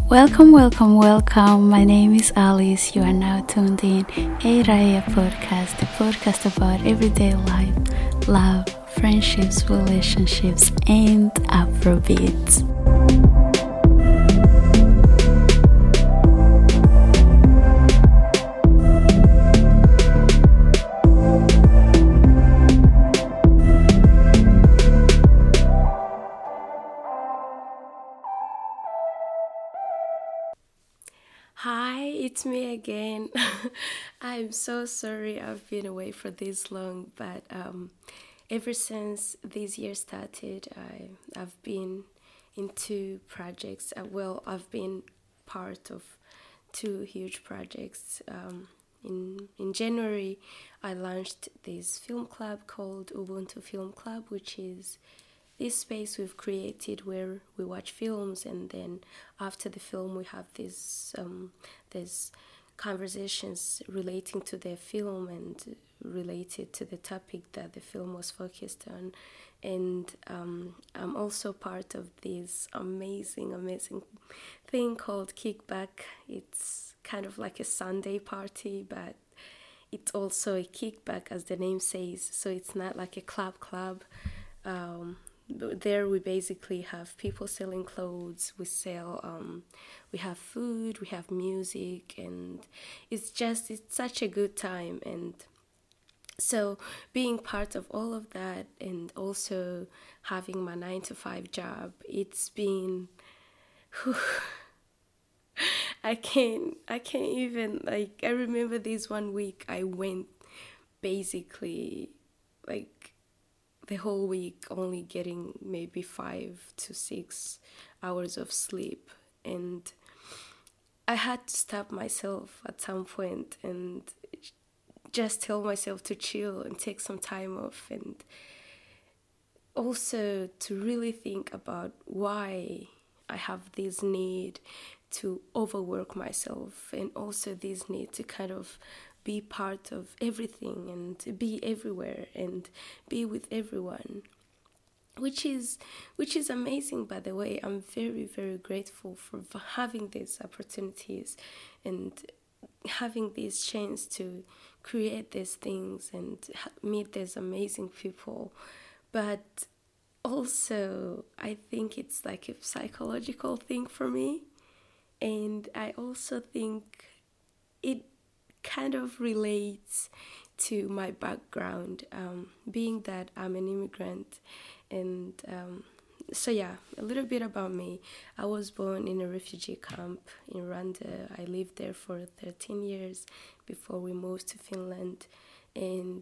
Welcome, welcome, welcome. My name is Alice. You are now tuned in A Raya podcast, the podcast about everyday life, love, friendships, relationships, and Afrobeats. Hi, it's me again. I'm so sorry I've been away for this long, but ever since this year started, I've been in two projects. I've been part of two huge projects. In January, I launched this film club called Ubuntu Film Club, which is this space we've created where we watch films, and then after the film we have these conversations relating to the film and related to the topic that the film was focused on. And I'm also part of this amazing thing called Kickback. It's kind of like a Sunday party, but it's also a kickback, as the name says. So it's not like a club. There we basically have people selling clothes. We have food, we have music, and it's such a good time. And so being part of all of that, and also having my 9 to 5 job, it's been I can't even, like, I remember this one week I went basically like the whole week only getting maybe 5 to 6 hours of sleep, and I had to stop myself at some point and just tell myself to chill and take some time off, and also to really think about why I have this need to overwork myself, and also this need to kind of be part of everything and be everywhere and be with everyone, which is amazing. By the way, I'm very, very grateful for having these opportunities and having this chance to create these things and meet these amazing people. But also, I think it's like a psychological thing for me, and I also think it kind of relates to my background, being that I'm an immigrant. And so yeah, a little bit about me. I was born in a refugee camp in Rwanda. I lived there for 13 years before we moved to Finland. And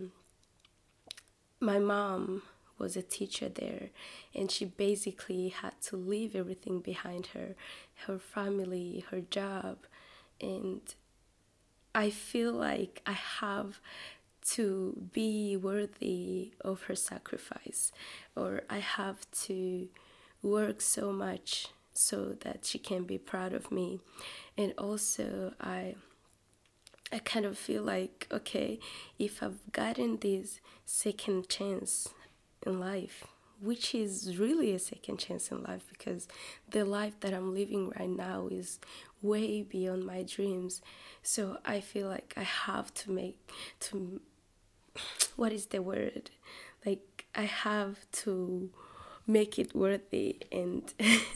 my mom was a teacher there, and she basically had to leave everything behind her family, her job. And I feel like I have to be worthy of her sacrifice, or I have to work so much so that she can be proud of me. And also I kind of feel like, okay, if I've gotten this second chance in life, which is really a second chance in life, because the life that I'm living right now is way beyond my dreams. So I feel like I have to what is the word? Like, I have to make it worthy, and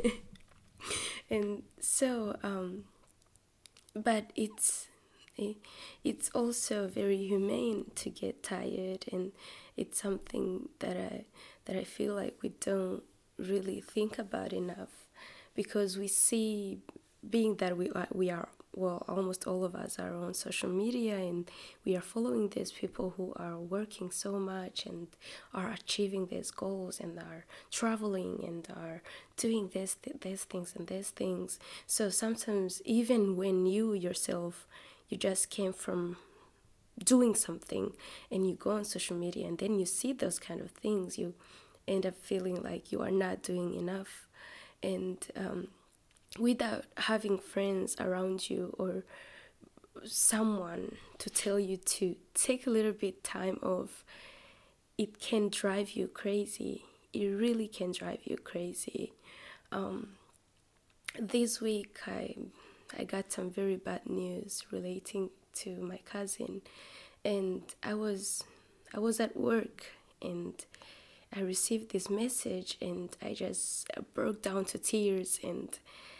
and so but it's also very humane to get tired, and it's something that I feel like we don't really think about enough, because we see, being that we are well, almost all of us are on social media, and we are following these people who are working so much and are achieving these goals and are traveling and are doing these things and these things. So sometimes, even when you yourself, you just came from doing something, and you go on social media and then you see those kind of things, you end up feeling like you are not doing enough. And without having friends around you or someone to tell you to take a little bit time off, it can drive you crazy. It really can drive you crazy. this week I got some very bad news relating to my cousin, and I was at work, and I received this message, and I just broke down to tears. And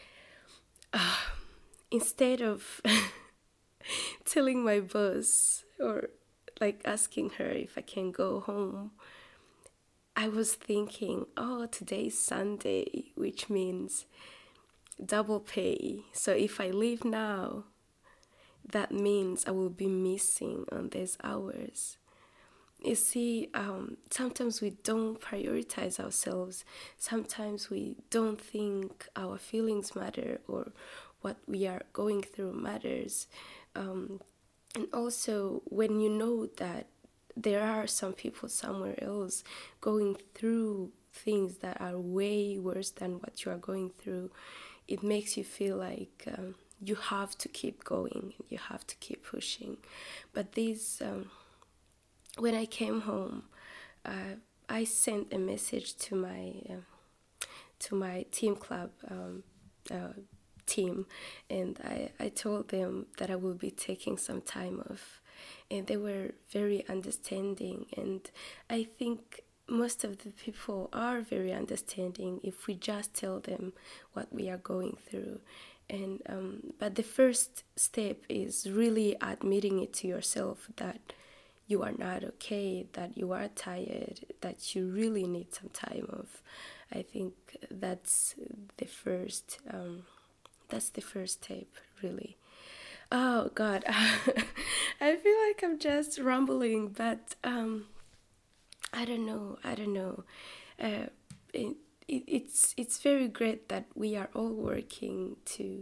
instead of telling my boss or like asking her if I can go home, I was thinking, oh, today's Sunday, which means double pay. So if I leave now, that means I will be missing on these hours. You see, sometimes we don't prioritize ourselves. Sometimes we don't think our feelings matter or what we are going through matters. And also, when you know that there are some people somewhere else going through things that are way worse than what you are going through, it makes you feel like you have to keep going, you have to keep pushing. But when I came home, I sent a message to my team club team, and I told them that I will be taking some time off, and they were very understanding. And I think most of the people are very understanding if we just tell them what we are going through. And but the first step is really admitting it to yourself that you are not okay, that you are tired, that you really need some time off. I think that's the first. That's the first step, really. Oh God, I feel like I'm just rambling, but I don't know. I don't know. Uh, it's very great that we are all working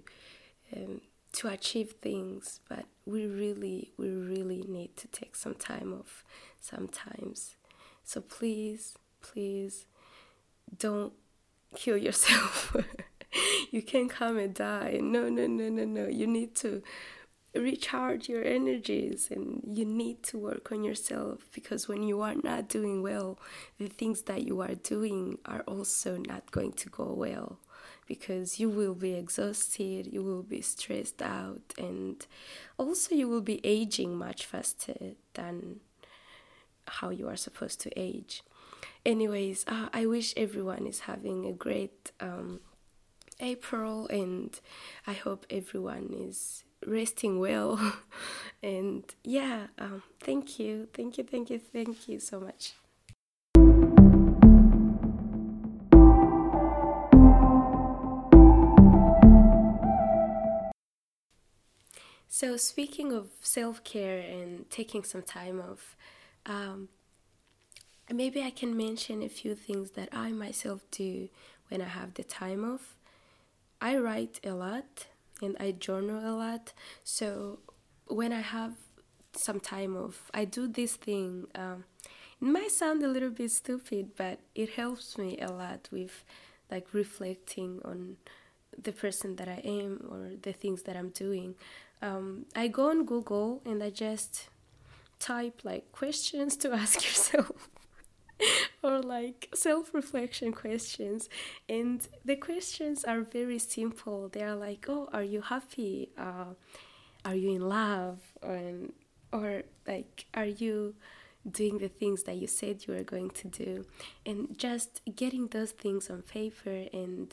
to achieve things, but we really need to take some time off sometimes. So please don't kill yourself. You can't come and die. No. You need to recharge your energies, and you need to work on yourself, because when you are not doing well, the things that you are doing are also not going to go well, because you will be exhausted, you will be stressed out, and also you will be aging much faster than how you are supposed to age. Anyways, I wish everyone is having a great April, and I hope everyone is resting well. And yeah, thank you so much. So speaking of self-care and taking some time off, um, maybe I can mention a few things that I myself do when I have the time off. I write a lot and I journal a lot. So when I have some time off, I do this thing. It might sound a little bit stupid, but it helps me a lot with like reflecting on the person that I am or the things that I'm doing. I go on Google and I just type like questions to ask yourself or like self-reflection questions, and the questions are very simple. They are like, oh, are you happy, are you in love, or like, are you doing the things that you said you were going to do? And just getting those things on paper and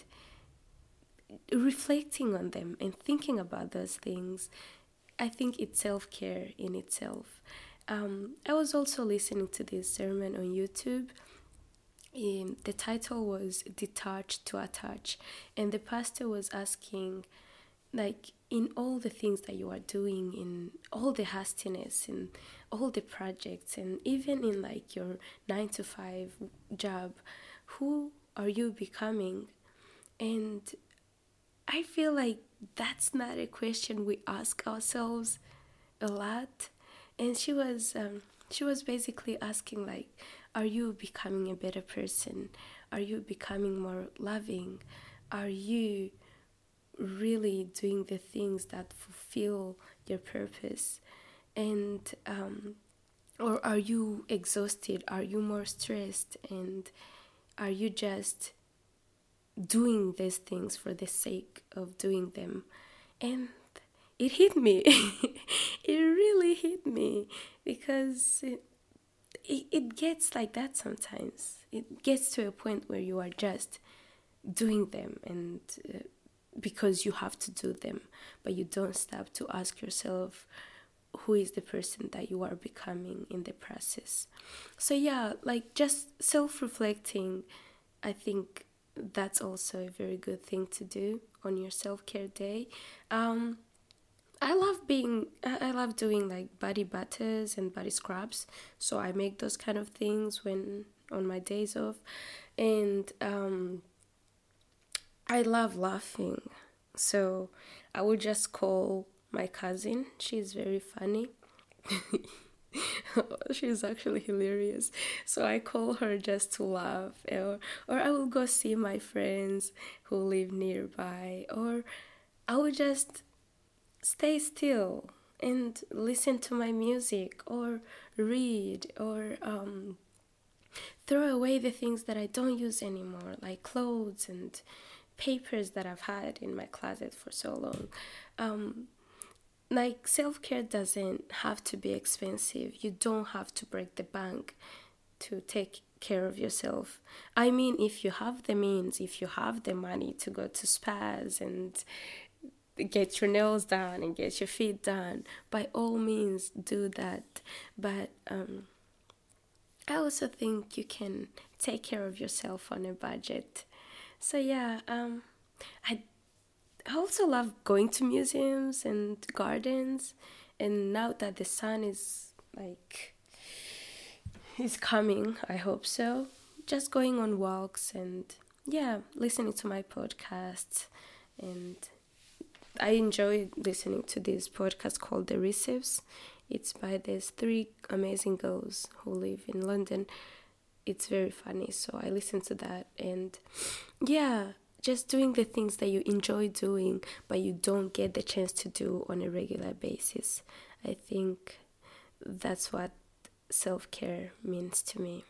reflecting on them and thinking about those things, I think it's self-care in itself. I was also listening to this sermon on YouTube. The title was Detach to Attach, and the pastor was asking, like, in all the things that you are doing, in all the hastiness, in all the projects, and even in like your 9 to 5 job, who are you becoming? And I feel like that's not a question we ask ourselves a lot. And she was basically asking, like, are you becoming a better person? Are you becoming more loving? Are you really doing the things that fulfill your purpose? And or are you exhausted? Are you more stressed? And are you just doing these things for the sake of doing them. And it hit me. It really hit me because it gets like that sometimes. It gets to a point where you are just doing them and because you have to do them, but you don't stop to ask yourself who is the person that you are becoming in the process. So yeah, like just self-reflecting, I think that's also a very good thing to do on your self-care day. I love doing like body butters and body scrubs. So I make those kind of things when on my days off. And I love laughing. So I would just call my cousin. She's very funny. She's actually hilarious. So I call her just to laugh, or I will go see my friends who live nearby, or I will just stay still and listen to my music, or read, or throw away the things that I don't use anymore, like clothes and papers that I've had in my closet for so long. Like self-care doesn't have to be expensive. You don't have to break the bank to take care of yourself. I mean, if you have the means, if you have the money to go to spas and get your nails done and get your feet done, by all means do that. But I also think you can take care of yourself on a budget. So yeah, I also love going to museums and gardens. And now that the sun is coming, I hope so. Just going on walks and yeah, listening to my podcasts. And I enjoy listening to this podcast called The Receives. It's by these three amazing girls who live in London. It's very funny, so I listen to that. And yeah, just doing the things that you enjoy doing, but you don't get the chance to do on a regular basis. I think that's what self-care means to me.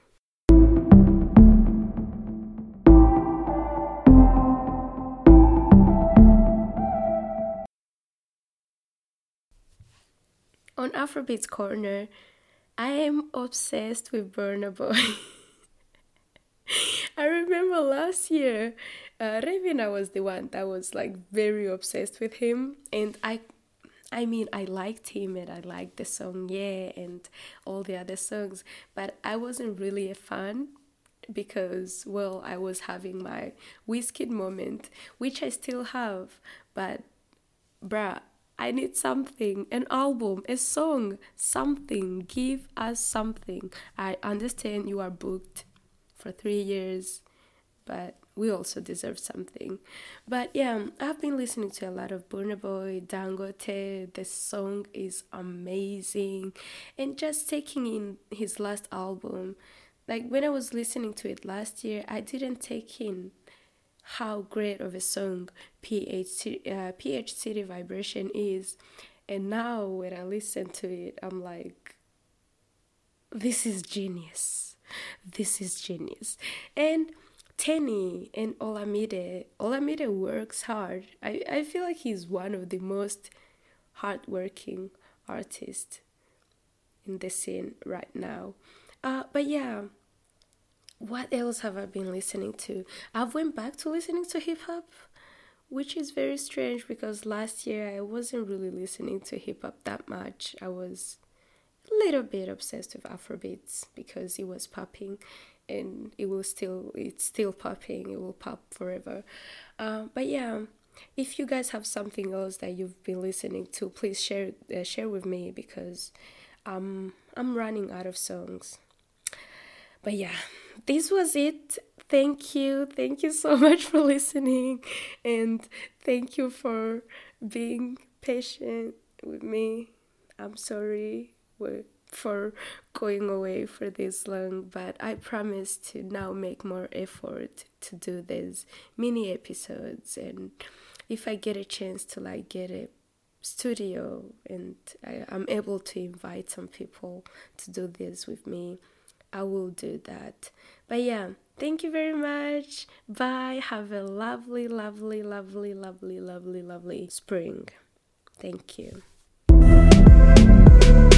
On Afrobeats Corner, I am obsessed with Burna Boy. I remember last year, Ravina was the one that was like very obsessed with him, and I mean, I liked him and I liked the song Yeah and all the other songs, but I wasn't really a fan because, well, I was having my Wizkid moment, which I still have, but bruh, I need something, an album, a song, something. Give us something. I understand you are booked for 3 years, but we also deserve something. But yeah, I've been listening to a lot of Burna Boy, Dangote. The song is amazing. And just taking in his last album, like when I was listening to it last year, I didn't take in how great of a song PH City Vibration is. And now when I listen to it, I'm like, this is genius. This is genius. And Tenny and Olamide works hard. I feel like he's one of the most hardworking artists in the scene right now. But yeah, what else have I been listening to? I've went back to listening to hip hop, which is very strange because last year I wasn't really listening to hip hop that much. I was a little bit obsessed with Afrobeats because it was popping, and it's still popping. It will pop forever. But yeah, if you guys have something else that you've been listening to, please share with me because I'm running out of songs. But yeah, this was it. Thank you so much for listening, and thank you for being patient with me. I'm sorry for going away for this long, but I promise to now make more effort to do these mini episodes. And if I get a chance to like get a studio and I'm able to invite some people to do this with me, I will do that. But yeah, thank you very much. Bye. Have a lovely, lovely, lovely, lovely, lovely, lovely spring. Thank you.